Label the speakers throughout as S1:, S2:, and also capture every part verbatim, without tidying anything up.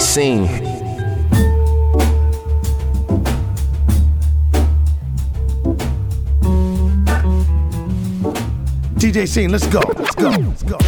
S1: Scene.
S2: D J Scene, let's go, let's go, let's go.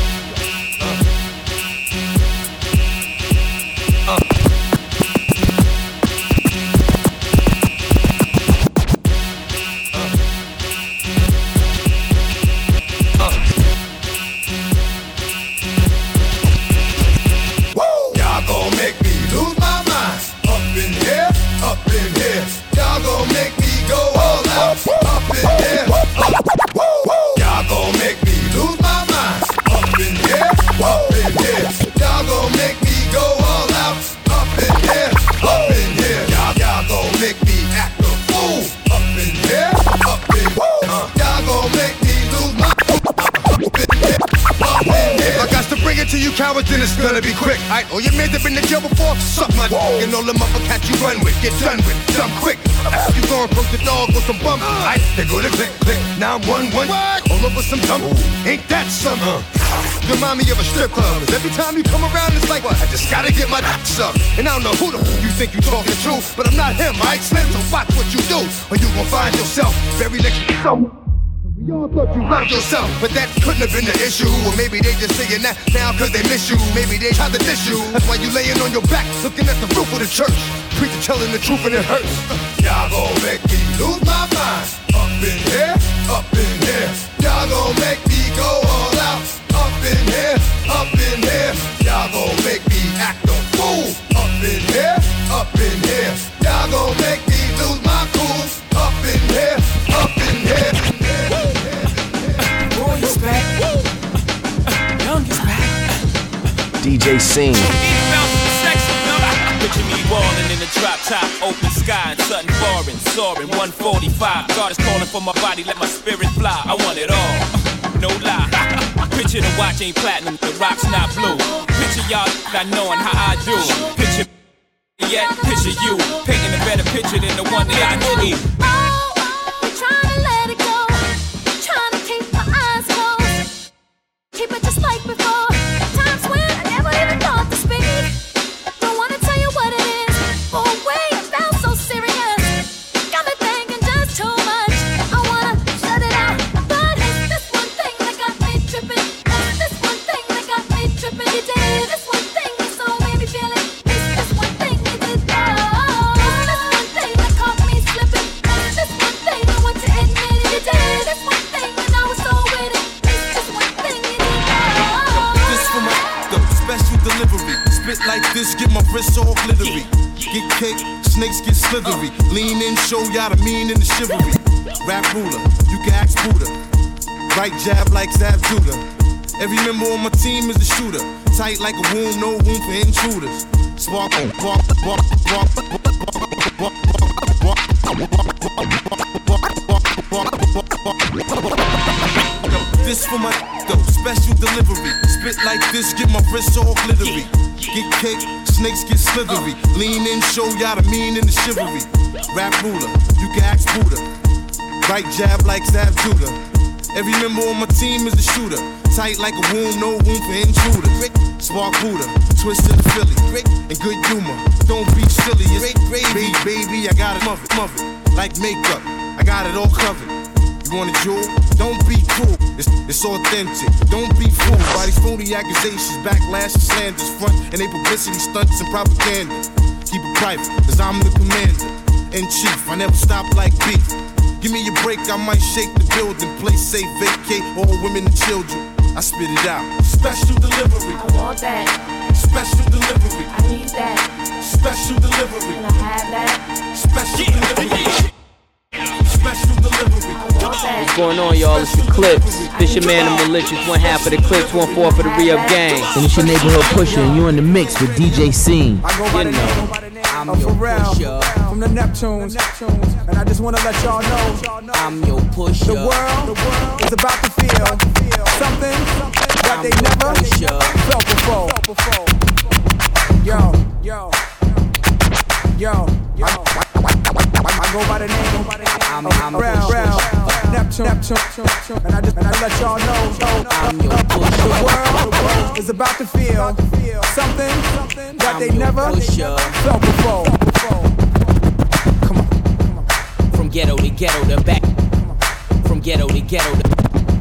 S3: Cowards, then it's gonna be quick. Aight, all your men have been in jail before, suck my dog, and all them other cats you run with, get done with, dumb quick. After you go and approach the dog with some bumps, aight, they go to click, click, nine one one, all over some dump. Ain't that something? You remind me of a strip club, 'cause every time you come around, it's like, what? I just gotta get my dick sucked. And I don't know who the f you think you talking to, but I'm not him, aight, Slim, so watch what you do, or you gon' find yourself very next to someone. Y'all thought you loved yourself, but that couldn't have been the issue. Or maybe they just saying that now cause they miss you. Maybe they tried to diss you. That's why you laying on your back, looking at the roof of the church. Preacher telling the truth and it hurts. Y'all gon' make me lose my mind. Up in here, up in here. Y'all gon' make me go all out. Up in here, up in here. Y'all gon' make me act a fool. Up in here, up in here. Y'all gon' make me lose my cool. Up in here, up in here.
S4: Boy's back. Young is back.
S1: D J Scene.
S4: Picture me ballin' in the drop top, open sky, and something foreign, soaring, one forty-five. God is calling for my body, let my spirit fly. I want it all, no lie. Picture the watch ain't platinum, the rock's not blue. Picture y'all not knowing how I do. Picture yet, picture you, painting a better picture than the one that I need.
S5: Keep it just like before. Times when I never even thought to speak. Don't wanna tell you what it is. Oh wait, it felt so serious. Got me thinking just too much. I wanna shut it out, but it's this one thing that got me tripping. It's this one thing that got me tripping. You did this one thing that so made me feel it. It's this one thing you did. Oh, it's this one thing that caught me slipping. It's this one thing I want to admit it. You did this one thing and I was so with it. It's just one thing.
S6: Special delivery, spit like this, get my wrist all glittery. Get cake, snakes get slithery. Lean in, show y'all the mean and the chivalry. Rap ruler, you can ask Buddha. Right jab like Zab Judah. Every member on my team is a shooter. Tight like a womb, no room for intruders. Spark, walk, walk, walk, this for my though, special delivery. Spit like this, get my wrist all glittery. Get cake, snakes get slithery. Lean in, show y'all the mean and the chivalry. Rap ruler, you can ask Buddha. Right jab like Zab Judah. Every member on my team is a shooter. Tight like a womb, no room for intruders. Spark Buddha, twisted the Philly. And good humor, don't be silly. It's gravy, baby, I got it, mother, mother. Like makeup, I got it all covered. You want a jewel? Don't be cruel. It's, it's authentic. Don't be fooled by these phony accusations, backlash and slanders, front and they publicity stunts and propaganda. Keep it private, cause I'm the commander in chief. I never stop like beef. Give me a break, I might shake the building. Play safe, vacate all women and children. I spit it out. Special delivery.
S5: I want that.
S6: Special delivery.
S5: I need that.
S6: Special delivery.
S5: Can I have that?
S6: Special delivery. Special delivery.
S7: What's going on, y'all? It's the Clips. This your man, the Malicious. One half of the Clips, one fourth of the Re-Up Gang.
S1: And it's your neighborhood pusher, and you in the mix with D J Scene.
S8: I go by the name I'm of Pharrell from the Neptunes, and I just want to let y'all know
S7: I'm your pusher.
S8: The world is about to feel something that they never felt before. Yo, yo, yo, yo. go by the name I'm, I'm Brown, Brown, Neptune, Neptune, and I just and I let y'all know I'm your the world is about to feel something that they never felt before. Come on,
S1: from ghetto to ghetto to back, from ghetto to ghetto to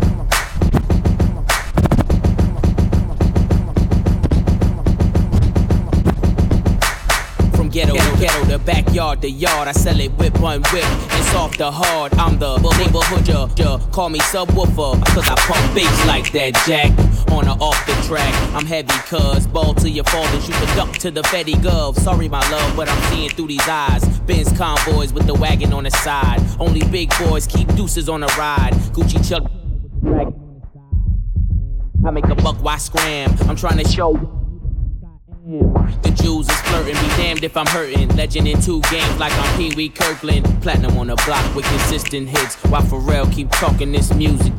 S1: Ghetto, ghetto, ghetto, the backyard, the yard. I sell it whip, one whip, and soft the hard. I'm the neighborhood, ja, ja. Call me subwoofer, cause I pump bass like that, Jack. On or off the track, I'm heavy, cuz ball to your fathers, you can duck to the Fetty Gov. Sorry, my love, but I'm seeing through these eyes. Benz convoys with the wagon on the side. Only big boys keep deuces on the ride. Gucci Chuck, I make a buck, why scram? I'm trying to show. The Jews is flirting, be damned if I'm hurting. Legend in two games like I'm Pee Wee Kirkland. Platinum on the block with consistent hits, while Pharrell keep talking this music.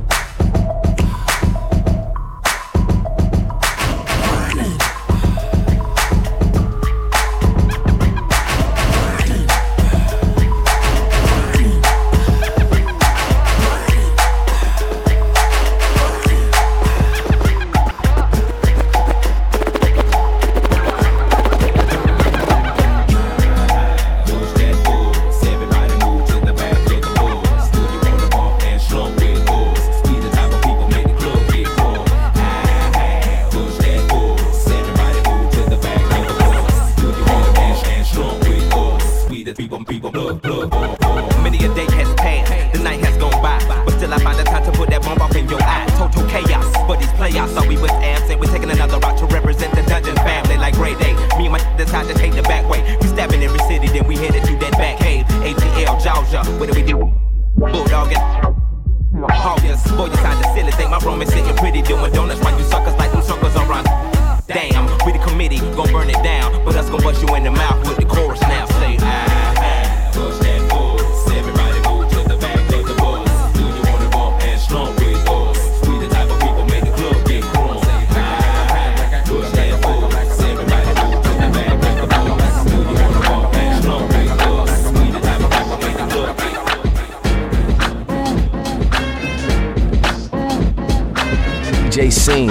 S1: D J Scene.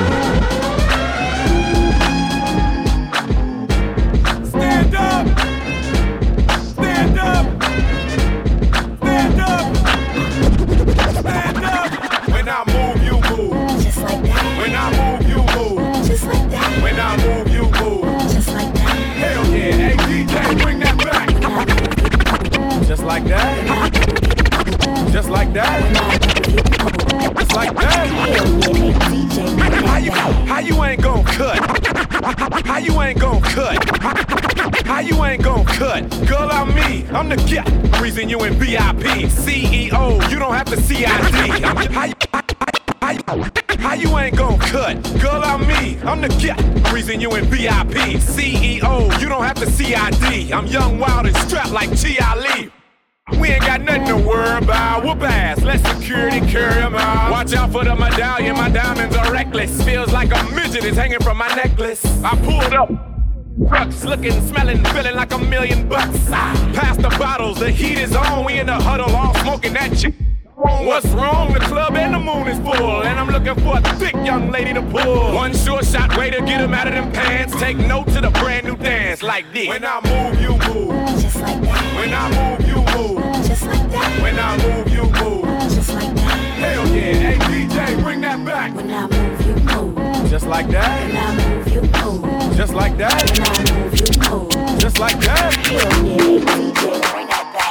S9: Stand up! Stand up! Stand up! Stand up! When I move, you move.
S5: Just like that.
S9: When I move, you move.
S5: Just like that.
S9: When I move, you move.
S5: Just like that.
S9: Hell yeah, hey D J, bring that back. Just like that. Just like that. Just like that. How you, how you ain't gon' cut? How you ain't gon' cut? How you ain't gon' cut? Girl, I'm me. I'm the guy. Reason you in V I P. C E O, you don't have to C I D. I'm, how, you, how, you, how you ain't gon' cut? Girl, I'm me. I'm the guy. Reason you in V I P. C E O, you don't have to C I D. I'm young, wild, and strapped like T I Lee. We ain't got nothing to worry about. Whoop ass, let security carry them out. Watch out for the medallion, my diamonds are reckless. Feels like a midget is hanging from my necklace. I pulled up, trucks looking, smelling, feeling like a million bucks. Pass the bottles, the heat is on. We in the huddle, all smoking that shit. What's wrong? The club and the moon is full, and I'm looking for a thick young lady to pull. One sure shot way to get them out of them pants. Take note to the brand new dance like this. When I move, you move.
S5: Just like that.
S9: When I move, you move.
S5: Just like that.
S9: When I move, you move.
S5: Just like that.
S9: Hell yeah, hey D J, bring that back.
S5: When I move, you move.
S9: Just like that.
S5: When I move, you move.
S9: Just like that.
S5: When I move, you move.
S9: Just like that.
S5: Hell yeah, D J, bring that back.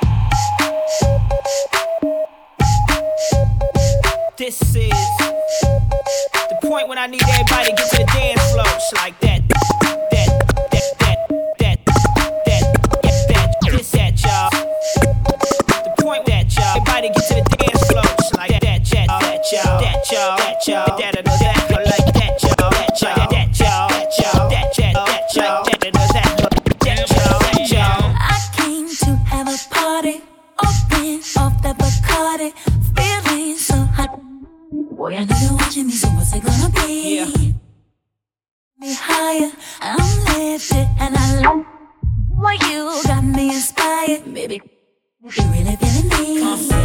S10: This is the point when I need everybody to get to the dance floor. It's like that, that, that, that, that, that, that, this that, y'all. The point that y'all, everybody get to the dance floor. It's like that, that, that, y'all, that, y'all, that, y'all, that, that, that, I like that, y'all, that, y'all, that, y'all, that, y'all, that, that, that, y'all, that, that, that, y'all, that, y'all.
S5: I came to have a party, open off the Bacardi, feeling so hot. Boy, I know you're watching me, so what's it gonna be?
S10: Yeah.
S5: Me higher, I'm lifted, and I love why you got me inspired, baby. You really feeling me?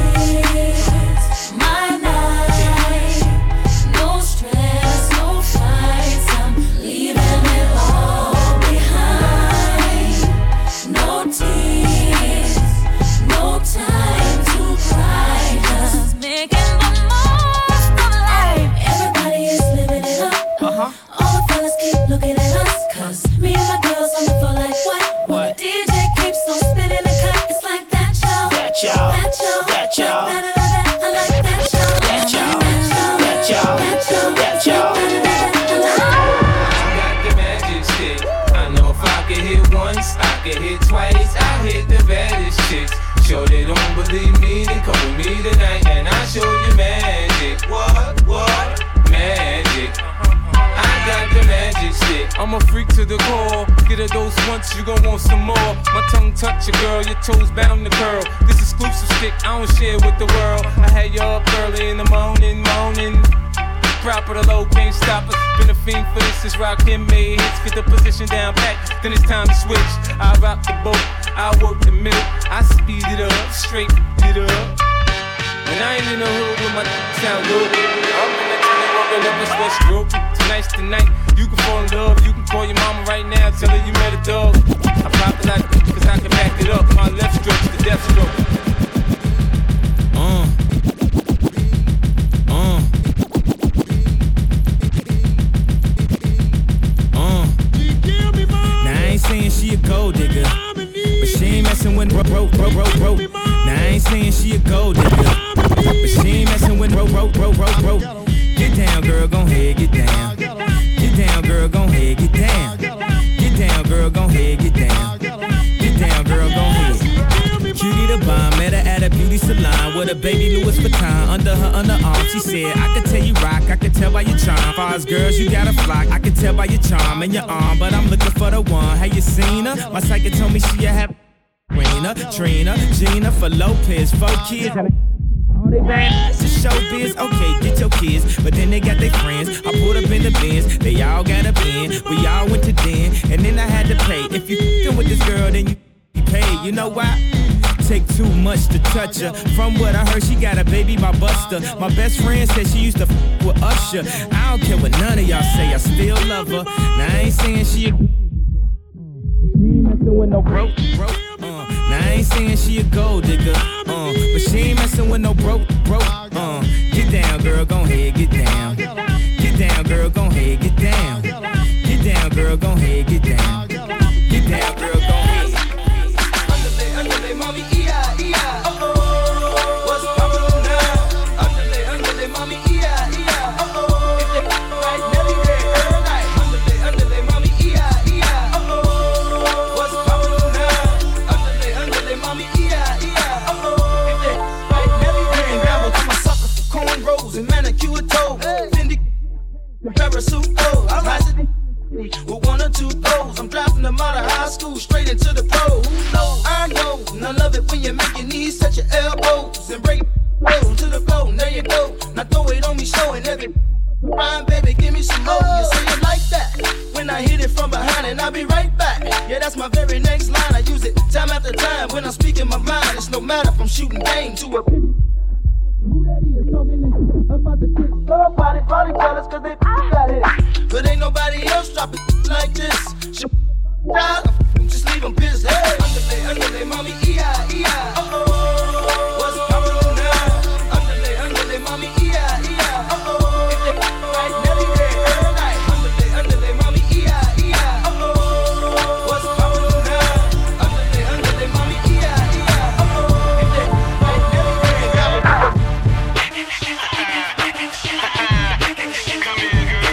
S5: My night, no stress, no fights. I'm leaving it all behind. No tears, no time to cry. Just making the most of life. Everybody is living it up. Uh-huh. All the fellas keep looking at us. Cause me and my girls on the floor like what? What? D J keeps on spinning the cut. It's like that, y'all. That y'all. That y'all. That y'all. I like that, y'all. That y'all. That y'all. That y'all.
S4: I got the magic stick. I know if I could hit once, I could hit twice. I hit the baddest chicks. Sure they don't believe me, then come with me tonight and I'll show you magic. What? What? Magic. I got the magic stick. I'm a freak to the core. Get a dose once, you gon' want some more. My tongue touch your girl, your toes bound to curl. This exclusive stick, I don't share with the world. I had you up early in the morning, morning. Proper the low, can't stop us. Been a fiend for this, is rock him made hits. Get the position down pat, then it's time to switch. I rock the boat, I work the middle. I speed it up, straight it up. When I ain't in the hood with my sound good, I'm in the train walking up a sweat stroke. Tonight's the night, you can fall in love. You can call your mama right now, tell her you met a dog. I pop it like cause I can back it up. My left stroke's the death stroke. Uh. Uh. Uh. Now I ain't saying she a gold digger, but she ain't messing with broke, broke, broke, broke, broke. Now I ain't saying she a gold digger, but she ain't messing with broke, broke, broke, broke, broke. Get down, girl, gon' head, get down. Get down, girl, gon' head, get down. Get down, girl, gon' head, get down. Get down, girl, gon' head. Cutie the bomb, met her at a beauty salon with a baby Louis Vuitton under her underarm. She said, I could tell you rock, I could tell by your charm. Far as girls, you got a flock, I could tell by your charm and your arm. But I'm looking for the one, have you seen her? My psychic told me she a happy Rena, Trina, Gina, for Lopez, four kids. All they bad to showbiz, okay, get your kids, but then they got their friends. I pulled up in the Benz, they all got a bin. We all went to den, and then I had to pay. If you f***ing with this girl, then you pay. You know why? Take too much to touch her. From what I heard, she got a baby by Buster. My best friend said she used to f*** with Usher. I don't care what none of y'all say, I still love her. Now I ain't saying she a she ain't messing with no broke, broke. Uh, now I ain't saying she a gold digger, uh, but she ain't messing with no broke, broke. Uh, get down, girl, gon' head, get down. Get down, girl, gon' head, get down. Get down, girl, gon' head, get down. Get down, girl, gon' head. Underlay, underlay, mommy, E I, E I. Uh-oh, what's poppin' now? Underlay, underlay, mommy, E I, E I. Uh-oh, if they right, Nelly, they every night. Underlay, underlay, mommy, E I, E I. Uh-oh, what's poppin' now? Underlay, underlay, mommy, E I, E I. Uh-oh, if they right, Nelly, they ain't rabble to my sucker for cornrows and manicure toes. Fendi, parasuit, oh, I'm rising with one or two goals. I'm dropping them out of high school straight into the pros. No, I know, and I love it when you make your knees touch your elbows and break it to the floor. And there you go. Now throw it on me, showing every rhyme, baby. Give me some more. You say it like that when I hit it from behind, and I'll be right back. Yeah, that's my very next line. I use it time after time when I'm speaking my mind. It's no matter if I'm shooting game to a pigeon. Who that is talking this about the tick? Somebody probably jealous cause they got it. But ain't nobody else dropping like this. She just leave them pissed. Hey, underlay, underlay, mommy, E I, E I. Uh-oh, what's poppin' now? Underlay, underlay, mommy, E I, E I. Uh-oh, if they right, Nelly, they every night. Underlay, underlay, mommy, E I, E I. Uh-oh, what's poppin' now? Underlay, underlay, mommy, E I, E I. Uh-oh, if they right, Nelly, they every night. Come here, girl.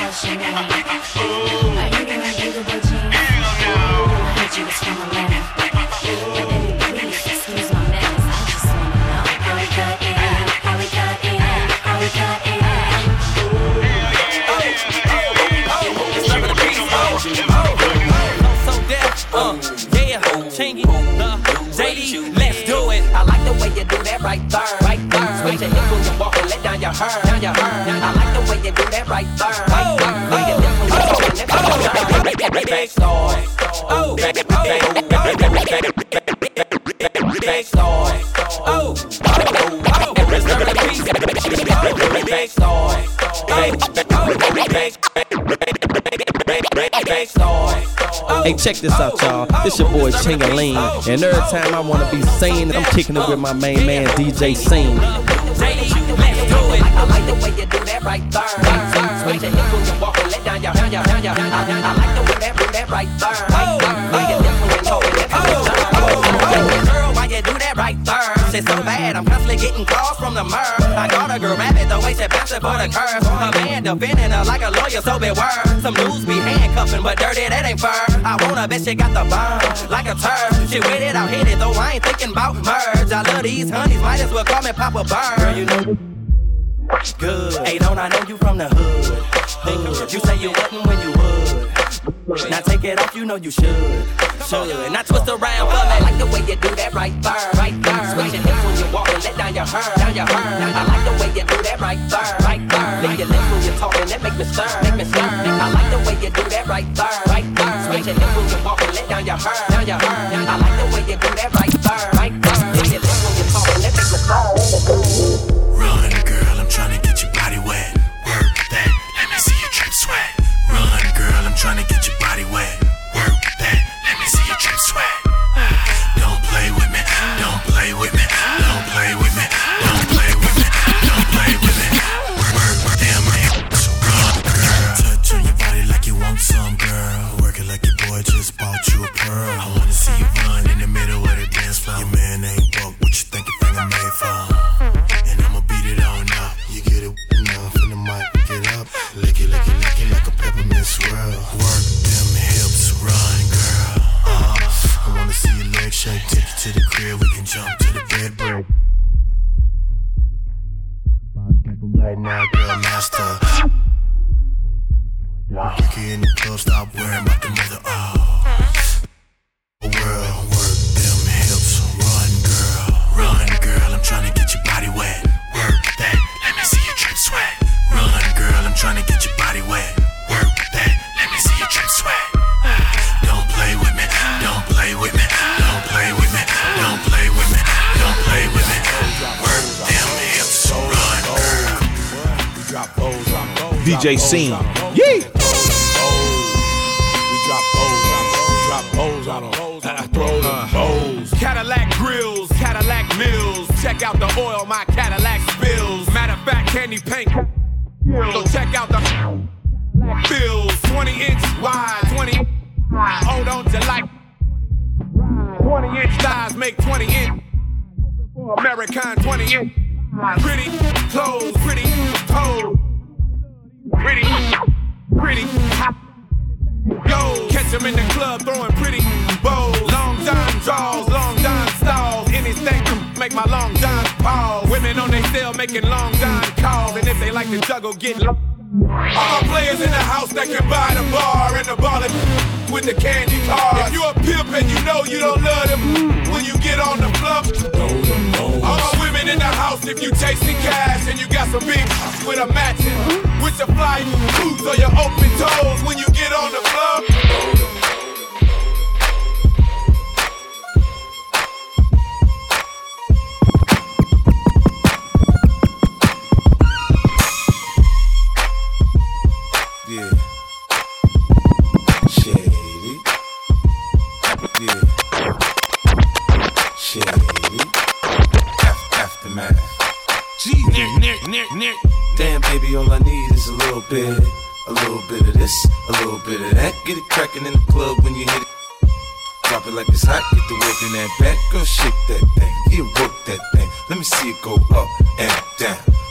S5: fashion. I heard you like beautiful jeans. I heard you was from Atlanta. But baby, please excuse my manners. I just wanna know how we got in, how we got in, how we got in.
S10: So deaf, uh, yeah, Chingy, the J D, let's do it. I like the way you do that right there, right there. Switch your hips when you walk and let down your hair, down your hair. I like the way you do that right there, right there. When you dip when you walk and let down your hair. Big star, oh, big star, big star, oh, oh, reserve the peace, big star,
S11: Hey, check this out, y'all. This your boy Chingaling, and every time I wanna be sane, I'm kicking it with my main man D J Scene.
S10: I like the way you do that right there. Switch your hips when you walk and let down your hair. I like the way that do that right there. When you dip when you talk and let down your hair. Girl, why you do that right there? It's so bad, I'm constantly getting calls from the murr. I got a girl rabbit, the way she bouncing for the curves. A man defending her like a lawyer, so beware. Some dudes be handcuffing, but dirty, that ain't fur. I wanna bet she got the bomb, like a turd. She with it, I'll hit it, though I ain't thinking about merge. I love these honeys, might as well call me Papa Bird. Girl, you know good. Hey, don't I know you from the hood? Hood. You say you wouldn't when you would. Now take it off, you know you should. Should. Now twist around for me. I like the way you do that right there, right there. Switch your hips when you walk and let down your hair, down your hair. I like the way you do that right there, right there. Lick your lips when you're talking, that make me stir, make me stir. I like the way you do that right there, right there. Switch your hips when you walk and let down your hair, down your hair. I like the way you do that right there, right there. Lick your lips when you're talking, that make me stir.
S12: Run, girl, I'm trying to get your body wet. Work that, let me see you drip sweat. Run, girl, I'm trying to get your body wet. Work that, let me see you drip sweat. Don't play with me, don't play with me, don't play with me, don't play with me, don't play with me. Work, work, damn man, so run, girl. Touch on your body like you want some, girl. Work it like your boy just bought you a pearl. I wanna see you run in the middle of the dance floor. Your man ain't broke, what you think your finger made for? And I'ma beat it on up. You get it enough in the mic, get up. Lick it, lick it, lick it like a peppermint swirl. Work them hips, run, girl. Uh, I wanna see your legs shake, take you to the crib, we can jump to the bed break. Right now, girl, master. Ricky in the club, stop worrying about the mother. Oh, world, work them hips, run, girl, run, girl. I'm trying to get your body wet. Work that, let me see you drip sweat. Run, girl, I'm trying to get your body wet. Work that, let me see you drip sweat. Don't play with me, don't play with me, don't play with me, don't play with me, don't play with me. Work them hips, run, girl.
S13: D J Scene, yeah.
S9: Cadillac grills, Cadillac mills. Check out the oil my Cadillac spills. Matter of fact, candy paint. So check out the bills. twenty inch wide, twenty. Oh, don't you like? twenty inch thighs make twenty inch. American twenty inch. Pretty clothes, pretty toes. Pretty, pretty. Yo, catch him in the club throwing pretty bows. Long John draws, long John stalls. Anything to make my long John pause. Women on they cell making long John calls. And if they like to juggle, get low. All players in the house that can buy the bar and the ball with the candy cars. If you a pimp and you know you don't love them when you get on the floor. All my women in the house, if you chasing cash and you got some big with a matching, with your fly boots or your open toes when you get on the floor.
S12: Yeah. Shady. Yeah. Shady. Aftermath.
S4: Gee, Nick, Nick, Nick, Nick.
S12: Damn, baby, all I need is a little bit. A little bit of this, a little bit of that. Get it crackin' in the club when you hit it. Drop it like it's hot, get the work in that back. Girl, shake that thing, yeah, work that thing. Let me see it go up and down.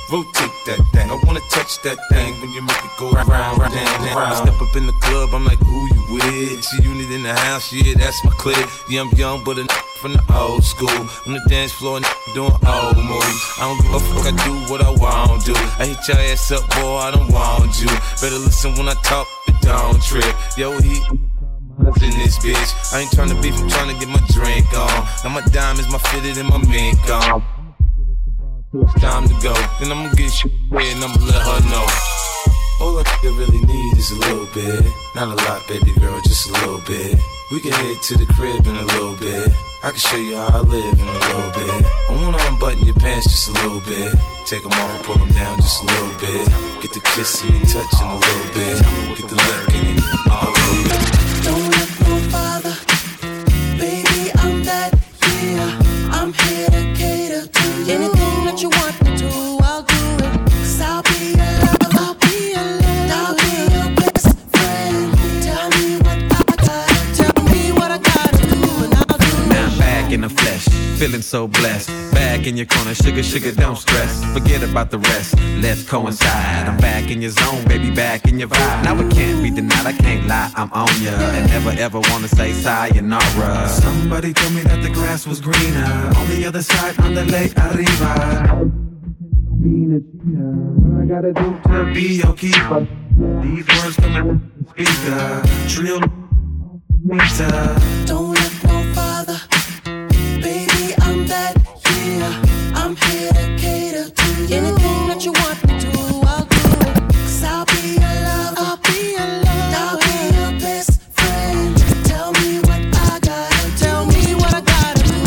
S6: rotate that thing. I wanna touch that thing when you make it go round, round, round, round. Step up in the club, I'm like, who you with? She unit in the house, yeah, that's my clique. Yeah, I'm young, but a from the old school. On the dance floor, doing old moves. I don't give a fuck, I do what I want to. I hit your ass up, boy, I don't want you. Better listen when I talk, but don't trip. Yo, he in this bitch. I ain't tryna beef, I'm tryna get my drink on. Now my diamonds, my fitted, and my mink on. It's time to go. Then I'ma get shit red and I'ma let her know. All I really need is a little bit. Not a lot, baby girl, just a little bit. We can head to the crib in a little bit. I can show you how I live in a little bit. I wanna unbutton your pants just a little bit. Take them off, pull them down just a little bit. Get the kissing and touching a little bit. Get the licking and all a little bit.
S14: Don't look no farther, baby, I'm that, yeah. I'm here to cater to you. Anything that you want me to, I'll do it. Cause I'll be your love, I'll be your love, I'll be your best friend. Tell me what I got, tell me what I gotta do, and I'll do it.
S15: Now I'm back in the flesh, feeling so blessed. Back in your corner, sugar, sugar, don't stress. Forget about the rest, let's coincide. I'm back in your zone, baby, back in your vibe. Now it can't be denied, I can't lie, I'm on ya. And never ever wanna say sayonara. Somebody told me that the grass was greener on the other side, on the lake arriba. What I gotta do to be your keeper? These words coming from the speaker. Trill meter.
S14: Don't look no farther, baby, I'm that, yeah. I'm here to cater to you. Anything that you want me to, I'll do it. Cause I'll be your love, I'll be your love, I'll be your best friend. Tell me what I gotta, tell me what I gotta do.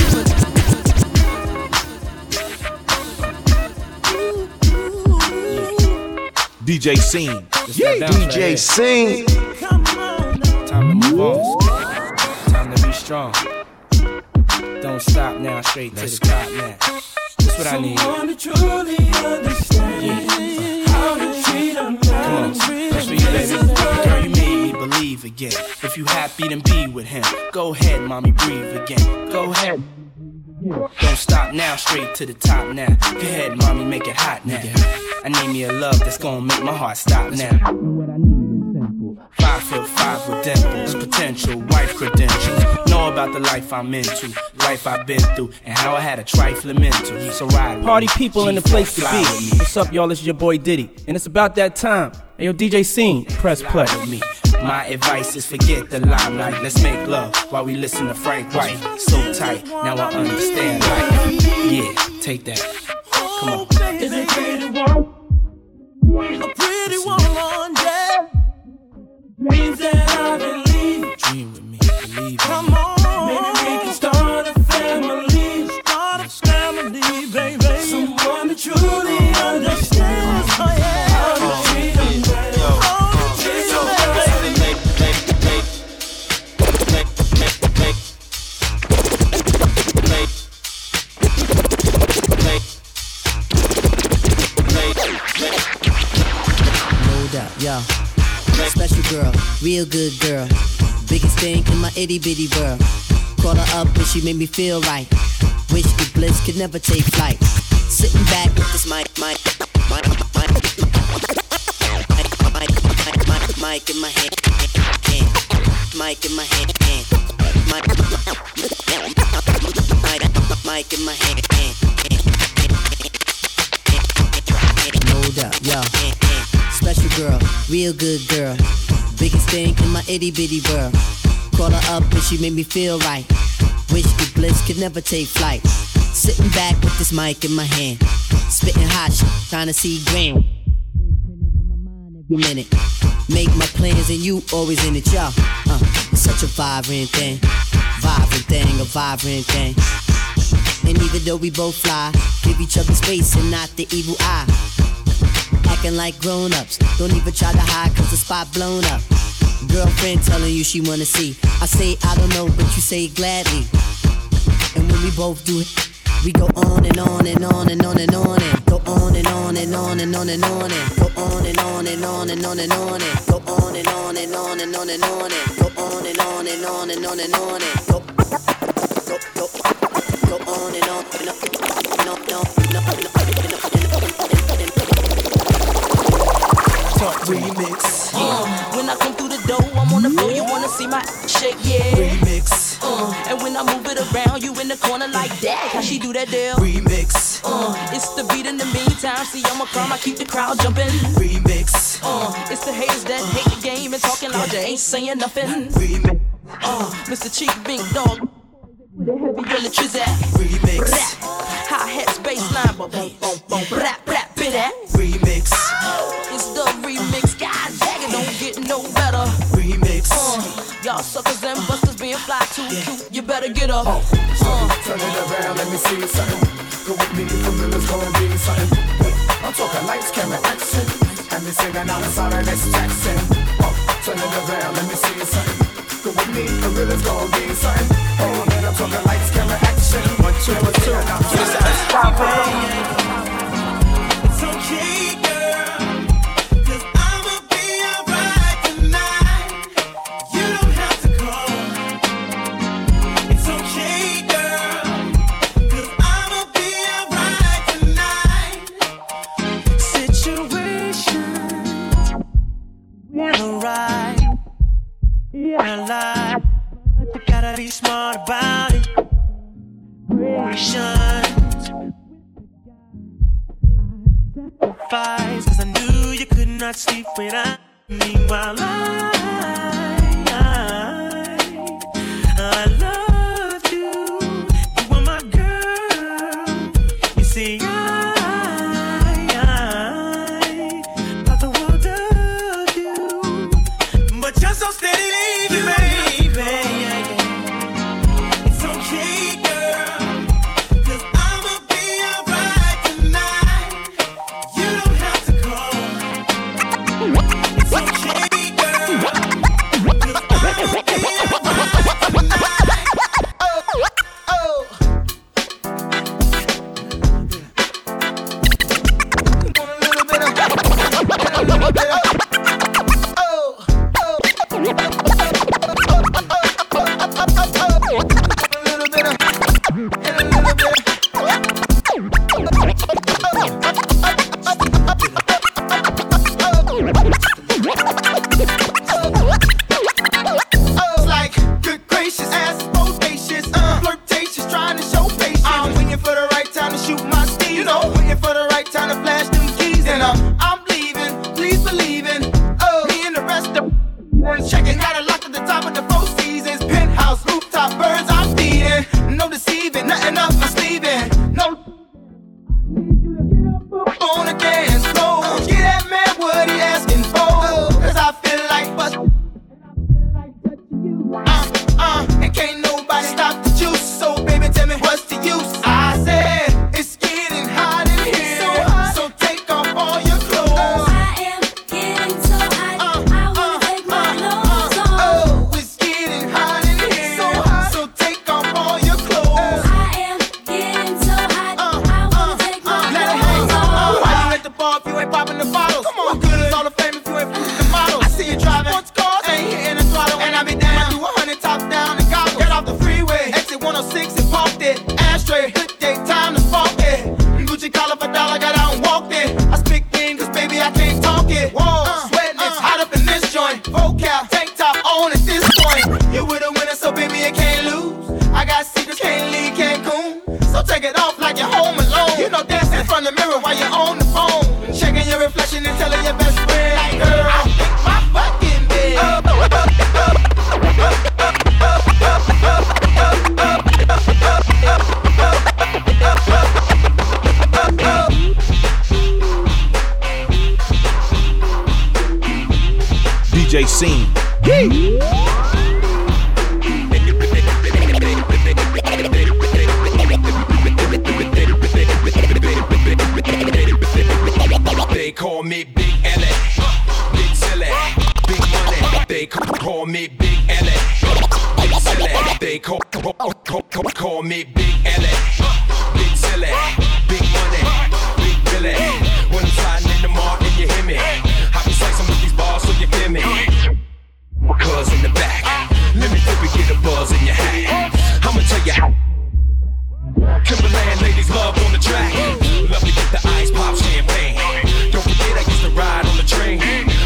S13: D J Scene.
S2: Yeah. D J Scene.
S10: Come on. Time to move on. Time to be strong. Don't stop now, straight to the top now. That's what I need. Someone to truly understand, yeah. How to treat a man. Come on, that's for you, baby. Girl, you made me believe again. If you happy, then be with him. Go ahead, mommy, breathe again. Go ahead. Don't stop now, straight to the top now. Go ahead, mommy, make it hot now. I need me a love that's gonna make my heart stop now. What I need is simple. Five foot five with dimples, potential wife credentials. Know about the life I'm into, life I've been through, and how I had a trifling mental. So ride with
S7: Party
S10: me.
S7: people in the place to be. What's up, y'all? It's your boy Diddy, and it's about that time. Hey, yo, D J Scene, press play.
S10: With me. My advice is forget the limelight. Let's make love while we listen to Frank White. So tight, now I understand life. Yeah, take that. Come on. Is it pretty one? A pretty one, yeah. Dreams that I believe. Dream with me, believe me. Come on. Maybe we can start a family. Start a family, baby. Someone that truly understands. Oh, yeah. How to treat them better. How to treat them better.
S16: Yo, special girl, real good girl. Biggest thing in my itty bitty world. Call her up and she made me feel right. Wish the bliss could never take flight. Sitting back with this mic, mic, mic, mic, mic, mic, mic in my hand, hand, mic in my hand, hand, mic, mic in my hand, hand, no doubt, yo. Special girl, real good girl. Biggest thing in my itty bitty world. Call her up and she made me feel right. Wish the bliss could never take flight. Sitting back with this mic in my hand. Spitting hot shit, trying to see grand. Every minute. Make my plans and you always in it, y'all. Uh, it's such a vibrant thing. Vibrant thing, a vibrant thing. And even though we both fly, give each other space and not the evil eye. Acting like grown-ups, don't even try to hide cause the spot blown up. Girlfriend telling you she wanna see. I say I don't know, but you say gladly. And when we both do it, we go on and on and on and on and on and go on and on and on and on and on and go on and on and on and on and on and go on and on and on and on and on and go on and on and on and on and on and go go go go on and on and on and on and on and on and on.
S17: talk remix.
S18: Uh, when I come through the door, I'm on the floor. You wanna see my shake, yeah.
S17: Remix.
S18: Uh, and when I move it around, you in the corner like that. How she do that deal?
S17: Remix.
S18: Uh, it's the beat in the meantime. See, I'm a crime. I keep the crowd jumping.
S17: Remix.
S18: Uh, it's the haters that hate the game and talking loud. You ain't saying nothing.
S17: Remix.
S18: Uh, Mister Cheek, Big Dog. The heavy on the trizat.
S17: Remix.
S18: High hats, bass line, but boom, boom, boom, rap, rap, bit that.
S17: Remix.
S18: It's the remix, God dang it, don't get no better.
S17: Remix.
S18: Uh, y'all suckers and busters being fly too cute, you better get up.
S19: Oh, uh, turn it around, let me see something. Go with me, for real, it's gonna be something. I'm talking lights, camera, action. And me singing out the side of this Jackson. Oh, turn it around, let me see something. Go with me, for real, it's gonna be something. Oh, man, I'm talking lights, camera, action. One, two, one, two. Stop it.
S14: It's okay, girl, 'cause I'ma be alright tonight. You don't have to call. It's okay, girl, 'cause I'ma be alright tonight. Situations we're alright. Yeah, lie. You gotta be smart about it. Patience. Sacrifice, 'cause I knew you could not sleep without me while I, I, I loved you. You were my girl. You see, I, I thought the world of you, but you're so steady leaving me. It's okay, girl, 'cause I'ma be alright tonight. You don't have to call. It's okay, girl, 'cause I'ma be alright tonight. Oh, oh. Want a little bit of, a little bit of, oh, oh. Like, good gracious, ass is bodacious, uh, flirtatious, trying to show patience. I'm waiting for the right time to shoot my steez, you know, waiting for the right time to flash them keys, and I'm, I'm leaving, please believe in, oh, me and the rest of checking, got it locked at the top of the Four Seasons, penthouse, rooftop, birds I'm feeding, no deceiving, nothing up my sleeving, no. On the dance floor, get that man what he asking for, 'cause I feel like bust. Uh, uh, and can't nobody stop the juice, so baby tell me what's the use. I said it's getting hot in here, so, hot. So take off all your clothes.
S5: I am getting so hot, uh, I wanna uh, take my
S14: uh,
S5: clothes
S14: uh,
S5: off.
S14: Oh, it's getting hot in here, so, hot. So take off all your clothes.
S5: I am getting so hot,
S14: Uh,
S5: I wanna
S14: uh,
S5: take my
S14: uh, let it hang.
S5: clothes off.
S14: Why you at the bar if you ain't popping the bottles? Come on, what good is all the fame if you ain't flipping the models? I see you driving sports cars, ain't hitting the throttle, and I be down. Do a hundred top down and goggles. Get off the freeway, exit one oh six and parked it. Ashtray, good day, time to spark it. Gucci collar for dollar, got out and walked it. I speak in 'cause baby I can't talk it. Whoa, uh, sweating, it's hot up in this joint. Vocal, tank top on at this point. You with a winner, so baby you can't lose. I got secrets, can't leave Cancun. So take it off like you're home alone. You know dancing in front of the mirror while you're on the phone. Checking your reflection and telling your best friend, like, girl, I think my fucking bed. Oh, oh, oh, oh,
S13: D J Scene.
S20: They call me Big Ellie, Big Silly, Big Money. They call me Big Ellie, Big Silly. They call, call, call, call, call me Big Ellie, Big Silly, Big Money, Big Billy. When I'm sliding in the mall and you hear me, I be slicing with these bars so you feel me. Cause in the back, let me flip and get a buzz in your hat. I'ma tell you how. Timberland ladies love on the track. Love to get the ice pop champagne. Don't forget I used to ride on the train.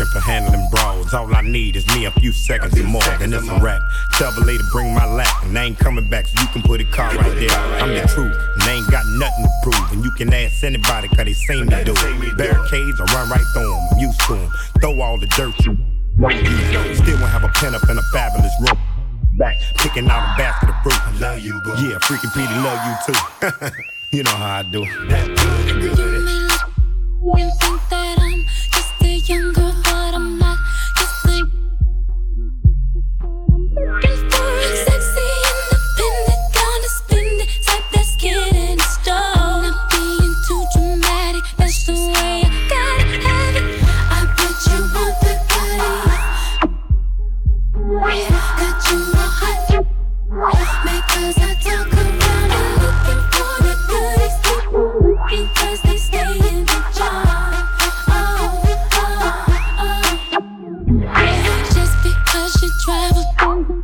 S21: reputation for handling brawls. All I need is me a few seconds or more, then it's a rap. Tell the lady bring my lap, and I ain't coming back, so you can put a car right there. I'm the truth, and they ain't got nothing to prove. And you can ask anybody, cause they seem to do it. Barricades, I run right through them, I'm used to them. Throw all the dirt you still won't have a pen up in a fabulous room. Back, picking out a basket of fruit. I love you, boo. Yeah, freaking Petey love you too. You know how I do. That good, good.
S5: You think that I'm just a young girl, but I'm not. Just a looking for a sexy, independent, gonna spend it, type that's getting it stone. Not being too dramatic, that's the way I gotta have it. I bet you want the goodies. Got you all hot, because I talk around and looking for the goodies. Looking 'cause they stay in the jar. Oh, oh, oh. Just because you travel through,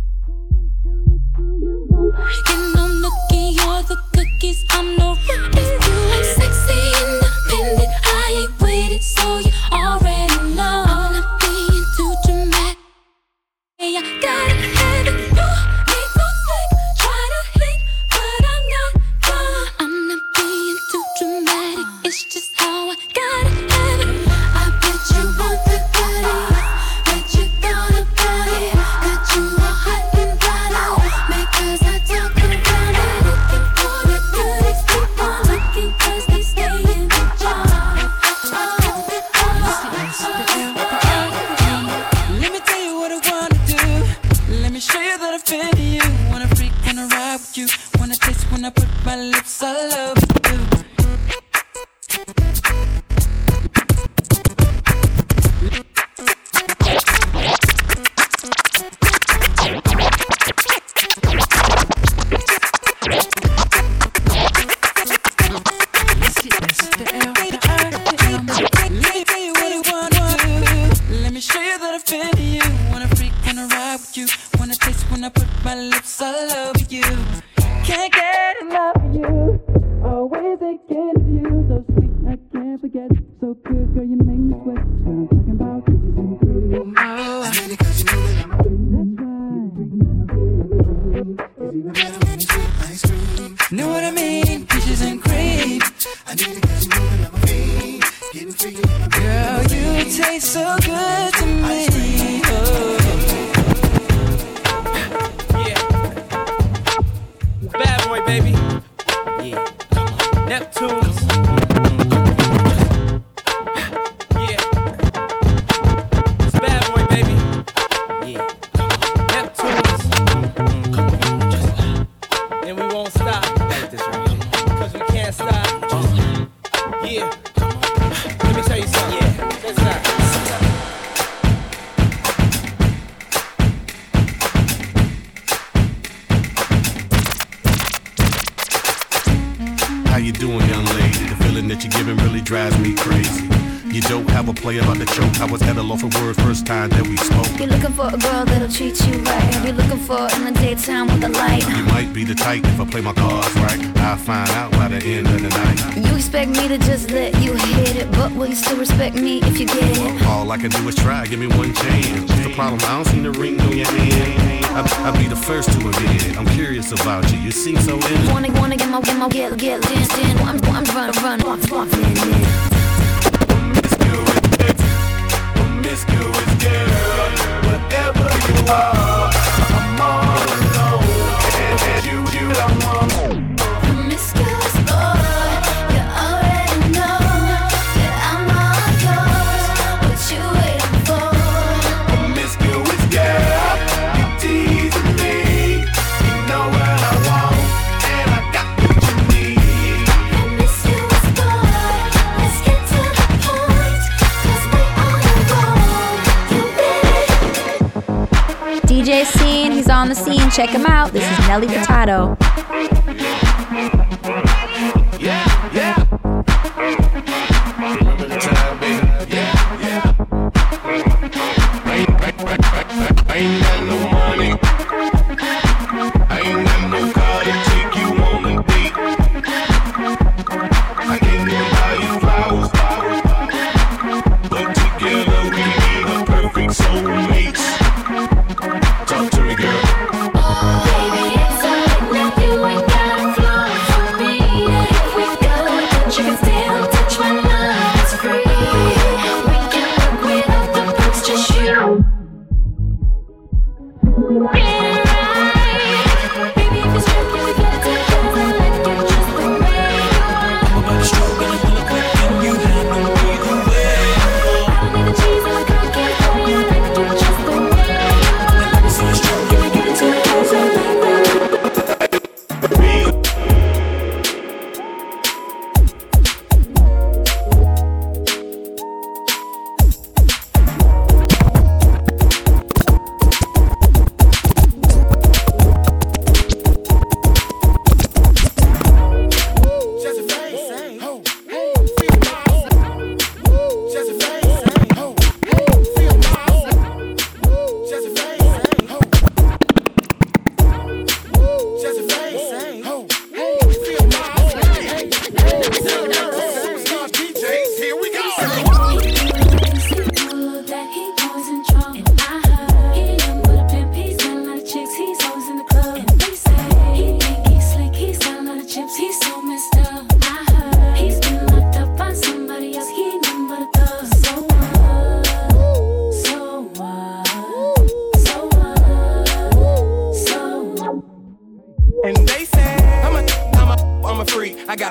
S5: and I'm looking, you're the cookies, I'm no rookie. I'm sexy, independent, I ain't waited, so you already know. I'm not being too dramatic. I gotta have it. You make no slick, try to hit, but I'm not done. I'm not being too dramatic, it's just how I gotta have it. I bet you want the goodies, bet you thought about it. Got you all hot and bothered, because I talk around and looking for the goodies. Keep on looking 'cause they stay in the jar. Oh,
S14: Let me tell you what I wanna do. Let me show you that I feel you. Wanna freak, wanna ride with you. Wanna taste when I put my lips all over you. Let me tell you what I wanna do. Let me show you that I feel you. Wanna freak, wanna ride with you. Wanna taste when I put my lips all over you. Can't get enough of you. Always thinking of you. So sweet, I can't forget. So good, girl, you make me sweat. What I'm talking about is you cream. Oh, I did it 'cause you know that I'm a cream. That's right. Know what I mean? Peaches and cream. I did it 'cause you know that I'm a fiend. Getting free. Girl, you taste so good to me. Oh.
S7: Bad boy, baby. Yeah. Neptunes. Yeah. It's bad boy, baby. Yeah. Neptunes. And we won't stop. Cause we can't stop. Yeah. Let me tell you something. Yeah. Let's stop.
S6: How you doing, young lady? The feeling that you're giving really drives me crazy. You don't have a play about the choke. I was at a loss for words first time that we spoke.
S5: You're looking for a girl that'll treat you right. You're looking for in the daytime with the light.
S6: You might be the type if I play my cards right. I'll find out by the end of the night.
S5: You expect me to just let you hit it, but will you still respect me if you get it?
S6: All I can do is try, give me one chance. What's the problem? I don't see the ring on your hand. I, I'll be the first to admit I'm curious about you. You seem so innocent.
S5: Wanna, wanna get my, get my, get, get, dance, dance. I'm, I'm running, running, off, off, man, man.
S19: Promiscuous girl, whatever you are, I'm all alone. And you, you, I'm on.
S5: Promiscuous boy, you already know that I'm all yours. What you waiting for?
S19: Promiscuous girl, you teasing me. You know what I want, and I got what you need.
S5: Promiscuous boy, let's get to the point, 'cause we on the road. You ready?
S22: D J Scene, he's on the scene. Check him out. This is Nelly Furtado.
S19: Yeah, yeah. Remember the time, baby. Yeah, yeah. I ain't, I, I, I ain't got no money. I ain't got no car to take you on a date. I can't even buy you flowers, but together we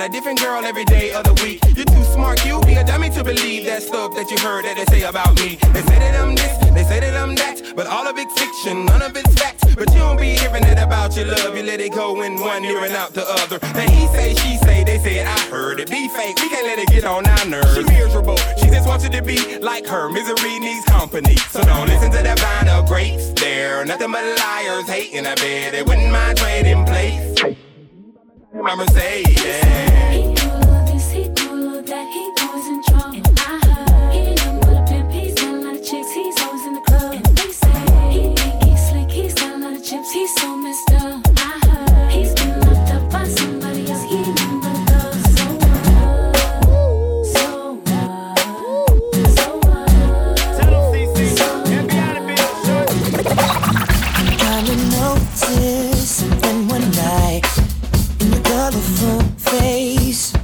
S3: about a different girl every day of the week. You're too smart, you be a dummy to believe that stuff that you heard that they say about me. They say that I'm this, they say that I'm that, but all of it's fiction, none of it's fact. But you don't be hearing it about your love, you let it go in one ear and out the other. Now he say, she say, they say it, I heard it. Be fake, we can't let it get on our nerves. She miserable, she just wants you to be like her. Misery needs company, so don't listen to the vine of grapes. They're nothing but liars, hating a bed. They wouldn't mind trading place. My Mercedes.
S5: He do all this, he do all that, he always in trouble. And I heard he ain't nothing but a pimp, he's got a lot of chicks, he's always in the club. And they say he think he's slick, he's got a lot of chips, he's so messed up. I heard he's been locked up by somebody else, he ain't nothing but a thug. So what? So what? So what?
S7: Tell him C C, get me out of here, short.
S14: Kinda noticed something one night in your colorful face.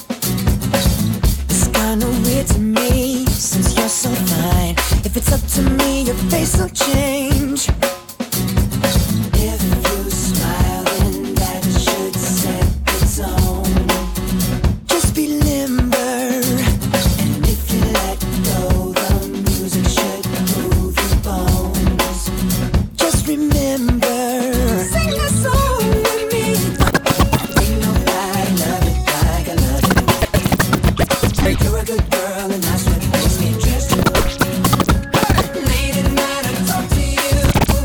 S14: It's kinda weird to me since you're so fine. If it's up to me, your face will change. If you smile, then that should set the tone. Just be limber, and if you let go, the music should move your bones. Just remember, sing a song with me. Ain't nobody love it like I love it. You're a good girl, and that's what makes me trust you. Late at night, I talk to you.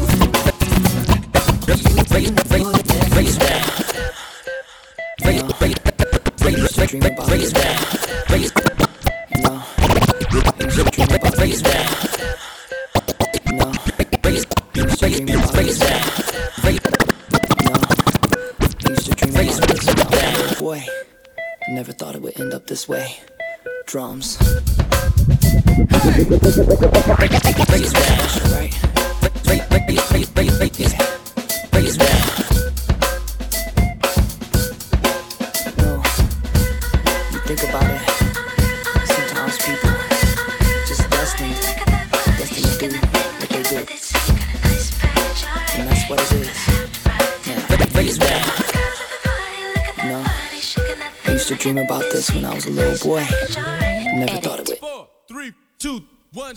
S14: Raise back. Raise back. Raise back. Dream about raise back. Raise back. No. Dream about raise back. No. Raise dream about raise back. Raise no. Used to dream about raise back. Boy, I never thought it would end up this way. Drums. Raise back, right? Raise, raise, raise, raise, raise, raise back. No, you think about it. Sometimes people just destined, destined to do what they do, and that's what it is. Yeah, raise back. No, I used to dream about this when I was a little boy. Never thought of it.
S3: Four, three, two, one.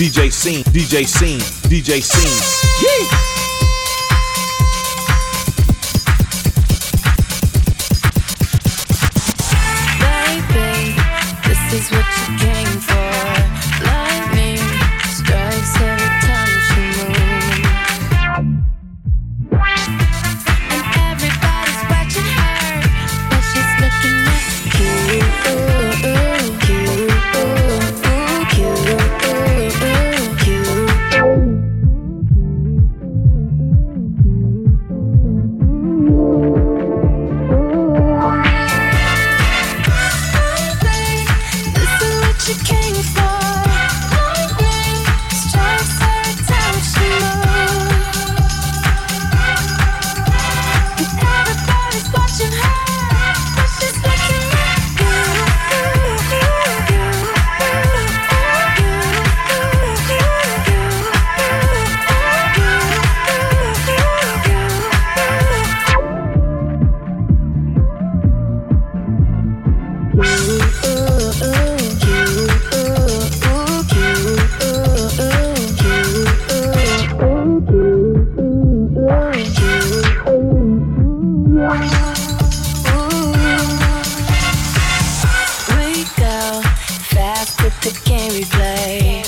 S13: D J Scene, D J Scene, D J Scene. Yee!
S5: This is what you came for. Lightning strikes every time she moves, and everybody's watching her, but she's looking at you. Ooh, ooh, cute, ooh, ooh, cute, ooh, ooh, cute. She came for lightning strikes every time she moves, and everybody's watching her, but she's looking at you. We go fast with the game we play.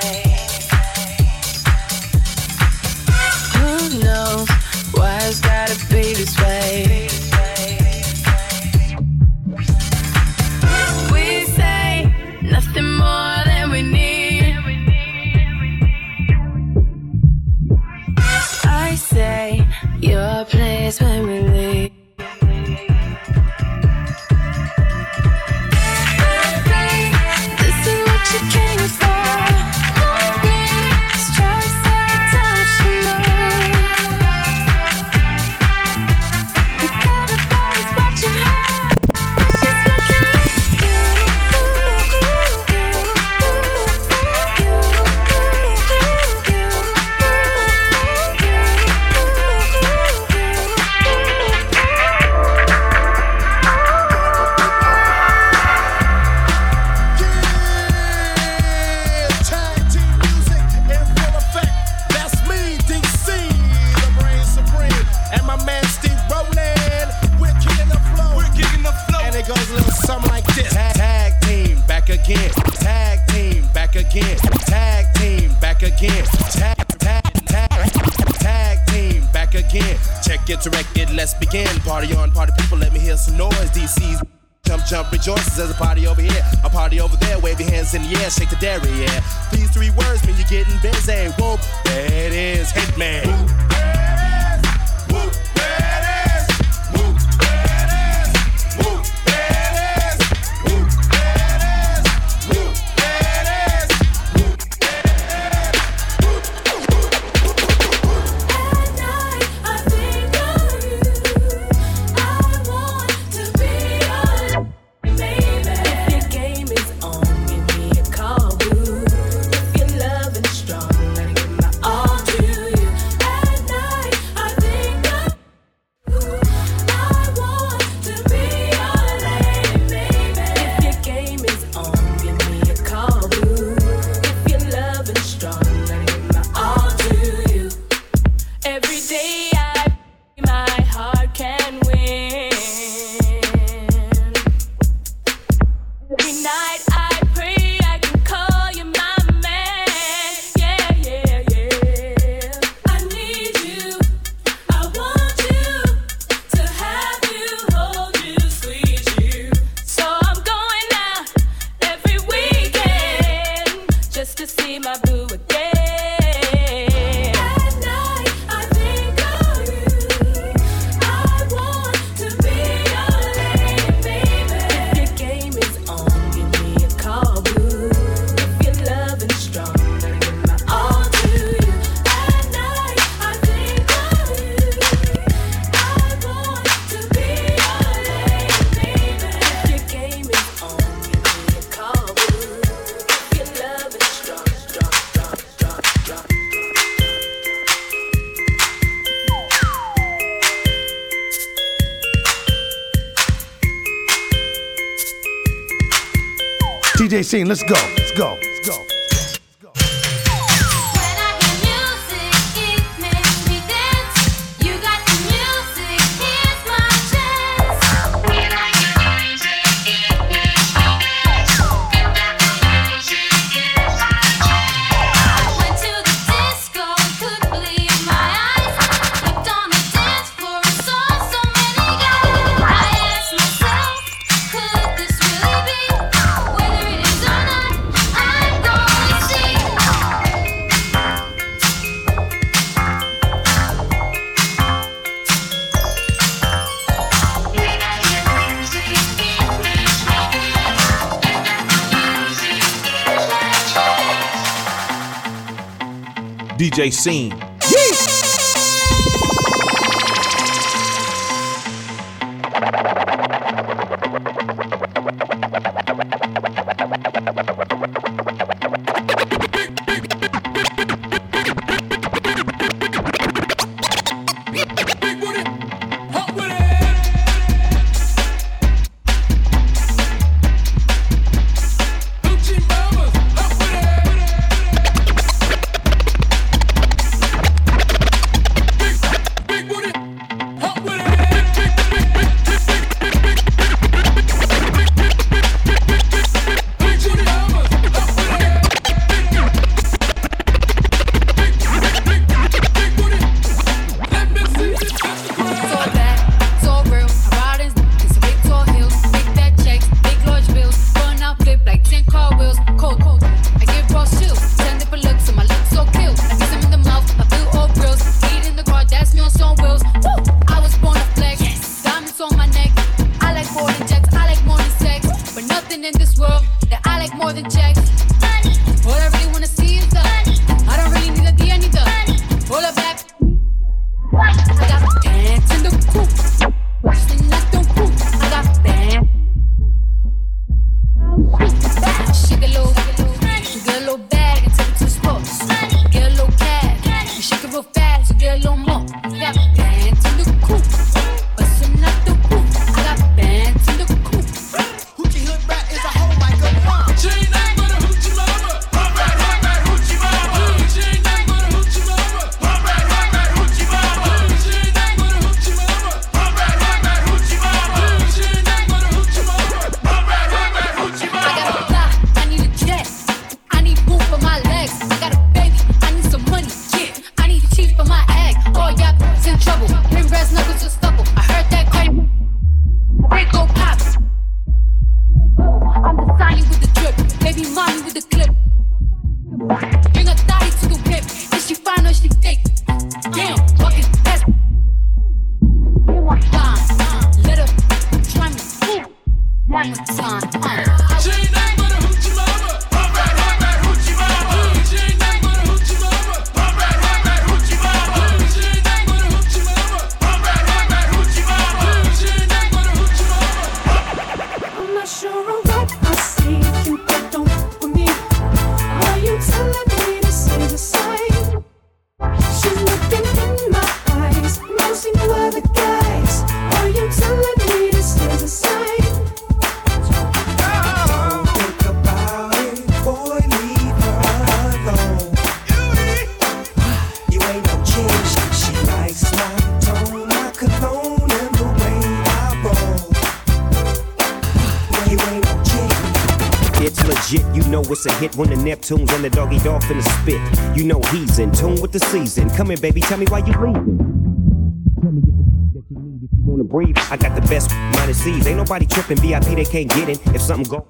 S5: Who knows why it's gotta be this way? We say nothing more than we need. I say your place when we leave. This is what you came for. Lightning strikes every time she moves, and everybody's watching her, she's looking at
S6: Tag team music in full effect. That's me, D C, the reign supreme, and my man Steve Ronan. We're kicking the flow. We're kicking the flow. And it goes a little something like this. Tag, tag team back again. Tag team back again. Tag team back again. Tag, tag, tag, tag team back again. Check it, direct it, let's begin. Party on, party people, let me hear some noise. D C's jump, jump, rejoices. There's a party over here, a party over there. Wave your hands in the air, shake the dairy, yeah. These three words mean you're getting busy. Whoop, there it is, Hitman. Whoop, there it is. Whoop, there it is. Whoop, there it is. Whoop, there it is. Whoop, there it is. Whoop,
S5: At night, I think of you. I want to be your baby. If your game is on, give me a call, boo. If you're loving strong, let me give my all to you. At night, I think of you. I want to be your lady, baby. If your game is on, give me a call, boo. If you're loving strong, let me give my all to you. Every day I pray my heart can win. Every night I pray I can call you my man. Yeah, yeah, yeah. I need you. I want you to have you, hold you, squeeze you. So I'm going out every weekend just to see my boo again. At night I think of you. I want to be your lady, baby. If your game is on, give me a call, boo. If you're loving strong, let me give my all to you. At night I think of you. I want to be your lady, baby. If your game is on, give me a call, boo. If you're loving strong, strong, strong, strong, strong.
S21: D J Scene, let's go. Let's go. Let's go. Let's go.
S13: D J Scene.
S1: It's a hit when the Neptunes and the doggy dolphin is spit. You know he's in tune with the season. Come here, baby, tell me why you leaving. Tell me if it's that you need if you wanna breathe. I got the best minus C's. Ain't nobody tripping. V I P they can't get in. If something go.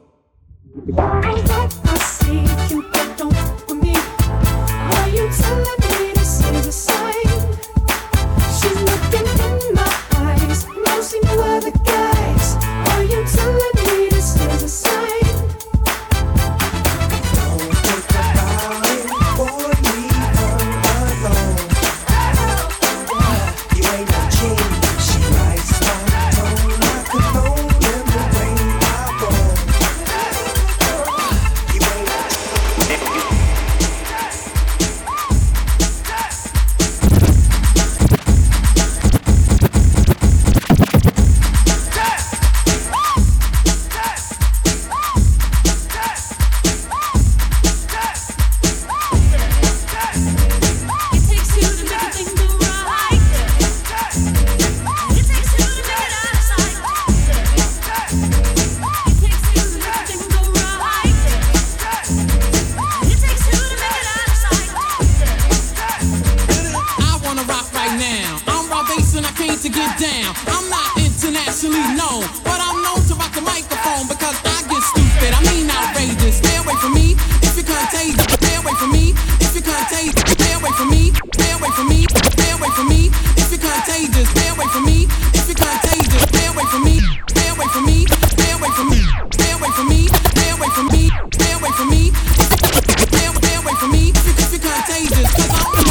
S1: I see you don't with me. Are you telling me this is a sign? She's looking in my eyes. No, see no other guys. Are you telling me this is a sign?
S8: Stay away from me if you're contagious, 'cause I'm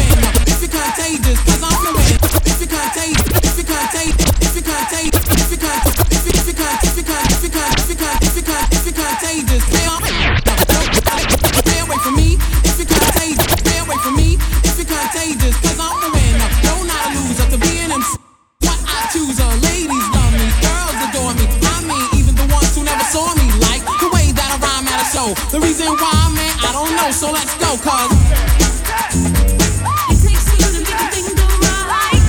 S8: go. The reason why, man, I don't know, so let's go, cause
S5: it takes two to make a thing go right.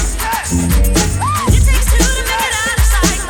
S5: It takes two to make it out of sight.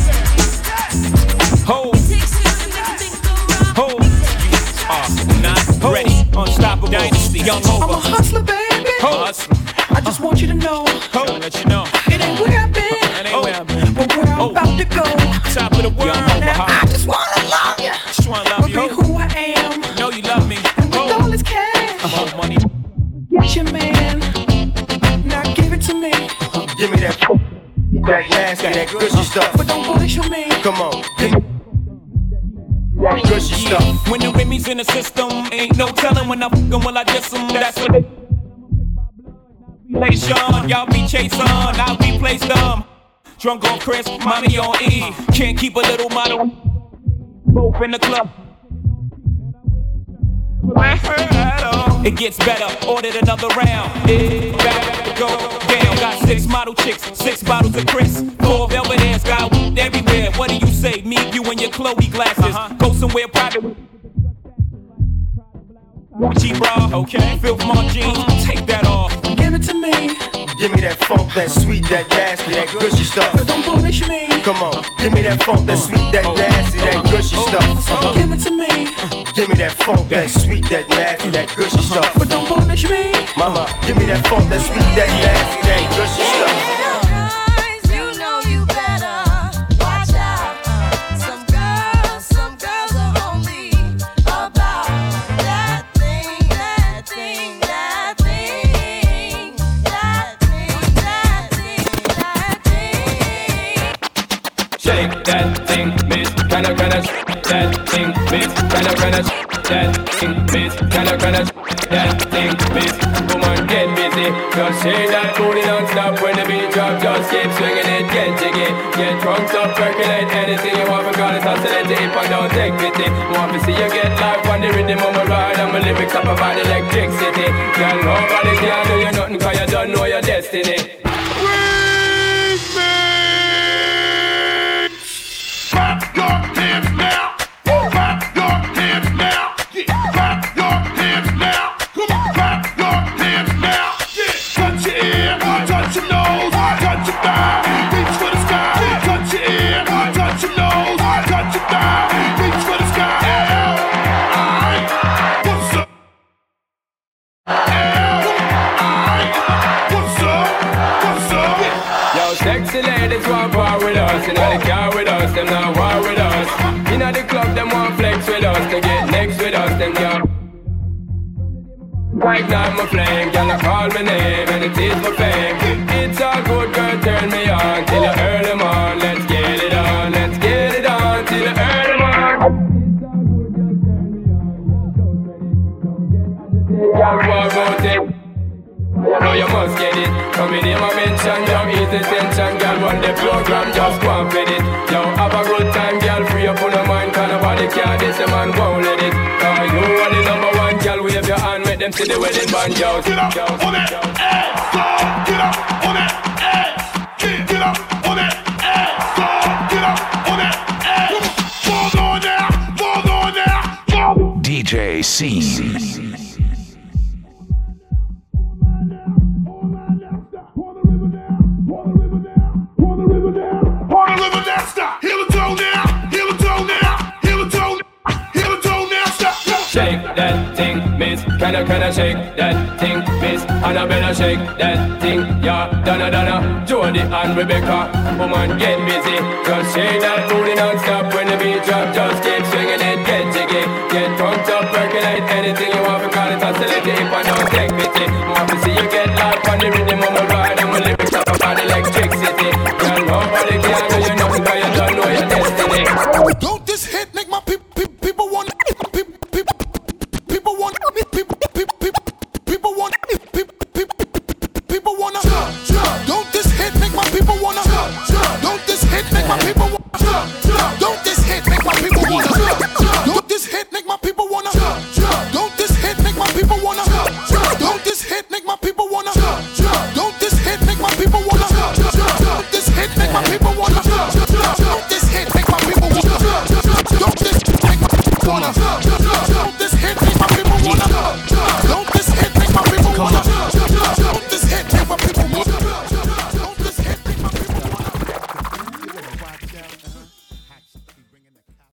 S4: Ho.
S5: It takes two to make a thing go right.
S4: Ho. You are not ready. Unstoppable dynasty, young over.
S11: I'm a hustler, baby.
S4: Ho. Hustler.
S11: I just want you to know.
S4: Ho. Let you know.
S11: It ain't where I've been.
S4: It ain't where I've been.
S11: But where I'm
S4: oh.
S11: about to go.
S4: Top of the world.
S11: Now, I just wanna love you.
S4: Just wanna love
S11: but
S4: you.
S11: Be who I am.
S4: Know you love me.
S11: And with all this cash.
S4: Uh-huh. Money.
S11: Get your man. Now give it to me.
S2: Give me that, that nasty, that gushy stuff.
S11: But don't bullshit me.
S2: Come on, give me that gushy stuff.
S4: When the Remy's in the system, ain't no telling when I fuck 'em, will I diss 'em. That's what they relation. Y'all be chasing, I'll be placed them. Drunk on Chris, mommy on E. Can't keep a little model. Both in the club. It gets better, ordered another round. It back to go down. Got six model chicks, six bottles of Chris. Four velvet ass, got wood everywhere. What do you say? Me, you, and your Chloe glasses. Uh-huh. Go somewhere private. Gucci bra, okay. Filth my jeans, take that off.
S11: Give it to me.
S2: Give me that funk, that sweet, that nasty, that gushy stuff.
S11: But don't bullshit me.
S2: Come on, give me that funk, that sweet, that nasty, that gushy stuff.
S11: Give it to me.
S2: Give me that funk, that sweet, that nasty, that gushy stuff.
S11: But don't bullshit me.
S2: Mama, give me that funk, that sweet, that nasty, that gushy stuff.
S20: That thing, miss, kinda, kinda, that thing, miss, kinda, kinda, that thing, miss, kinda, kinda, that thing, miss. Woman, get busy, just shake that booty non-stop when the beat drop. Just keep swinging it, get jiggy, get drunk, up, percolate anything you want. Because it's oscillate, if I don't take pity. Want to see you get life on the rhythm of my ride, and my lyrics up about electricity. Girl, nobody can do you nothing, cause you don't know your destiny.
S23: Clap your hands now. Clap your hands now. Clap your hands now. Come on, clap your hands now. Touch your ear, touch your nose, touch your thigh, reach for the sky. Touch your ear, touch your nose, touch your thigh, reach for the sky. Alright, what's up? Alright, what's up? What's up?
S20: Yo, sexy ladies want war with us, you know they car with us, them not war with us. You know the club, them want flex with us, they get next with us, them can't ignite my flame, girl, I call my name, and it is my fame. It's all good, girl, turn me on, till you earn them on. Let's get it on, let's get it on, till you earn them on. Girl, what about it? Now you must get it. Come in here, my mention, yo, ease the tension, girl, run the program, just go and fit it. Yo, have a good time, girl, free up on your mind, cause nobody care, this a man won't let it. Cause you are the number one, girl, wave your hand, make them see the wedding band, yo.
S23: Get up on that ass, dog. Get up on that ass. Get, get up on that ass, dog. Get up on that ass. Fall on there, fall on there, fall.
S24: D J Scene.
S20: Shake that thing, miss. Can I, can I shake that thing, miss? And I better shake that thing, yeah. Donna, Donna, Jody and Rebecca. Woman, get busy. Just shake that booty non-stop when the beat drop. Just keep swinging it, get jiggy. Get drunk up, percolate anything you want. Because it's oscillating if I don't take pity. Want to see you get life on the rhythm of my ride. And my lyrics up about electricity. Girl, nobody can do you nothing, cause you don't know your destiny.
S23: Don't